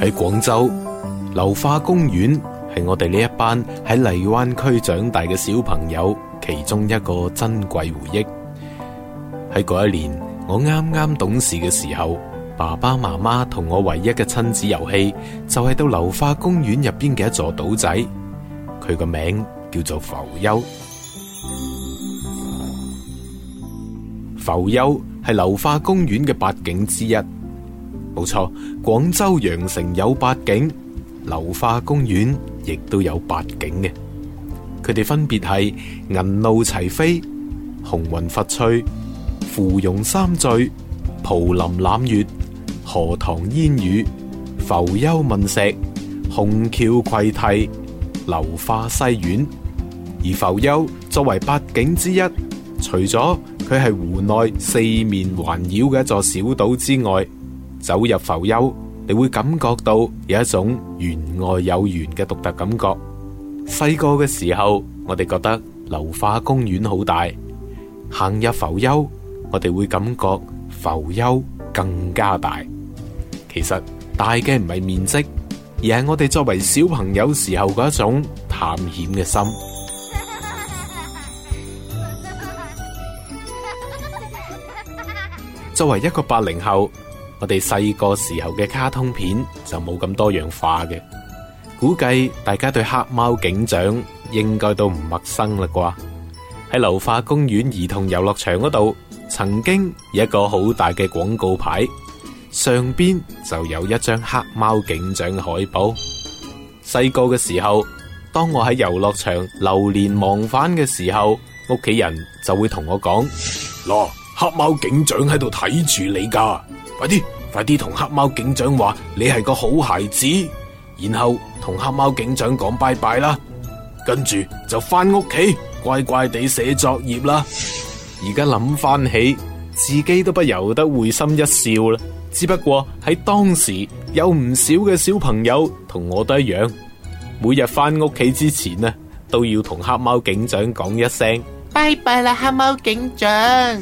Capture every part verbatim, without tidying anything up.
喺廣州，流花公園係我哋呢一班喺荔灣區長大嘅小朋友其中一個珍貴回憶。喺嗰一年，我啱啱懂事嘅時候，爸爸媽媽同我唯一嘅親子遊戲就係到流花公園入邊嘅一座島仔，佢個名叫做浮丘。浮丘係流花公園嘅八景之一，冇錯，廣州羊城有八景，流花公園亦都有八景嘅。佢哋分別係銀鷺齊飛、紅雲佛翠、芙蓉三醉、蒲林攬月、荷塘煙雨、浮丘問石、虹橋葵堤、流花西苑。而浮丘作為八景之一，除咗佢係湖內四面環繞嘅一座小島之外，走入浮丘，你會感覺到有一種園外有園嘅獨特感覺。細個嘅時候，我哋覺得流花公園好大，行入浮丘，我哋會感覺浮丘更加大。其實大嘅唔係面積，而係我哋作為小朋友時候嗰一種探險嘅心。作為一個八零後，我哋細個時候嘅卡通片就冇咁多樣化嘅，估計大家對黑貓警長應該都唔陌生啦啩。喺流花公園兒童遊樂場嗰度，曾經有一個好大嘅廣告牌，上邊就有一張黑貓警長嘅海報。細個嘅時候，當我喺遊樂場流連忘返嘅時候，屋企人就會同我講：嗱，黑貓警長喺度睇住你噶，快啲快啲同黑貓警長話你係個好孩子，然後同黑貓警長講拜拜啦，跟住就翻屋企乖乖地寫作業啦。而家諗翻起，自己都不由得會心一笑啦。只不過喺當時有唔少嘅小朋友同我都一樣，每日翻屋企之前呢，都要同黑貓警長講一聲拜拜啦，黑貓警長。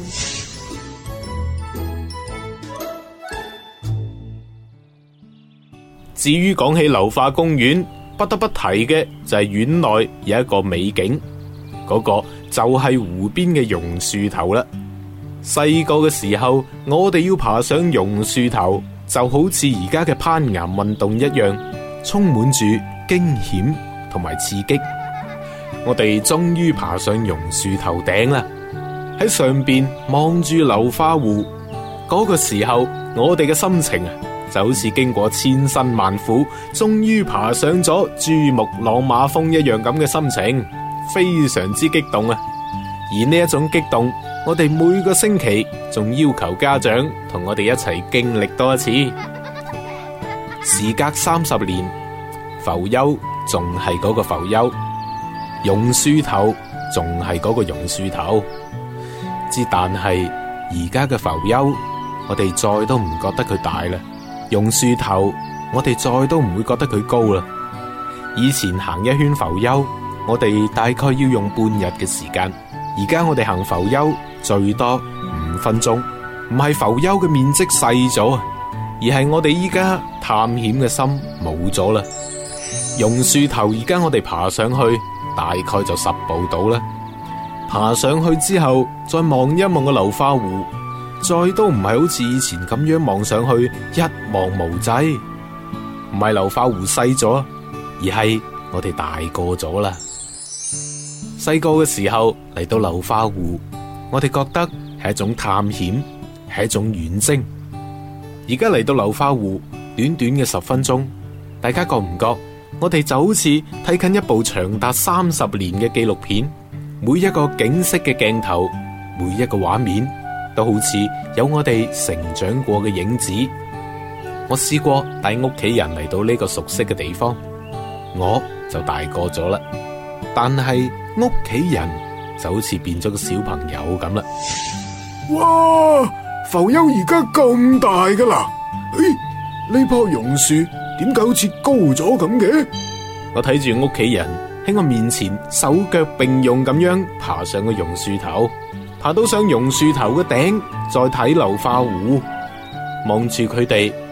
至於講起流花公園，不得不提嘅就係園內有一個美景，嗰個就係湖邊嘅榕樹頭啦。細個嘅時候，我哋要爬上榕樹頭，就好似而家嘅攀岩運動一樣，充滿住驚險同埋刺激。我哋終於爬上榕樹頭頂啦，喺上邊望住流花湖，嗰個時候我哋嘅心情啊，就好似經過千辛萬苦，終於爬上咗珠穆朗瑪峰一樣咁嘅心情，非常之激動啊！而呢一種激動，我哋每個星期仲要求家長同我哋一齊經歷多一次。時隔三十年，浮丘仲係嗰個浮丘，榕樹頭仲係嗰個榕樹頭。之但係而家嘅浮丘，我哋再都唔覺得佢大啦。榕樹頭，我哋再都唔會覺得佢高啦。以前行一圈浮丘，我哋大概要用半日嘅時間，而家我哋行浮丘最多五分鐘。唔係浮丘嘅面積細咗啊，而係我哋依家探險嘅心冇咗啦。榕樹頭而家我哋爬上去大概就十步到啦。爬上去之後，再望一望個流花湖，再都唔係好似以前咁樣望上去一望無際。唔係流花湖細咗，而係我哋大個咗啦。細個嘅時候嚟到流花湖，我哋覺得係一種探險，係一種遠征。而家嚟到流花湖，短短嘅十分鐘，大家覺唔覺我哋就好似睇緊一部長達三十年嘅紀錄片，每一個景色嘅鏡頭，每一個畫面都好似有我哋成長過嘅影子。我試過帶屋企人嚟到呢個熟悉嘅地方，我就大個咗啦，但係屋企人就好似變咗個小朋友咁啦。 哇！浮丘而家咁大噶啦，誒，呢棵榕樹點解好似高咗咁嘅？ 我睇住屋企人喺我面前手腳並用咁樣爬上個榕樹頭，爬到上榕樹頭嘅頂，再睇流花湖，望住佢哋，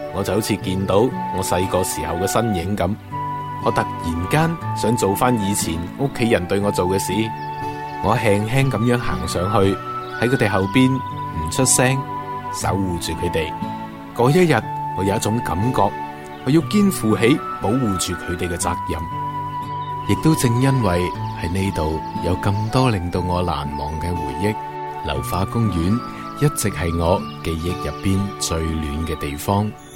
我就好似見到我細個時候嘅身影咁，我突然間想做翻以前屋企人對我做嘅事，我輕輕咁樣行上去，喺佢哋後邊唔出聲，守護住佢哋。嗰一日，我有一種感覺，我要肩負起保護住佢哋嘅責任。亦都正因為喺呢度有咁多令到我難忘嘅回憶，流花公園一直係我記憶入邊最暖嘅地方。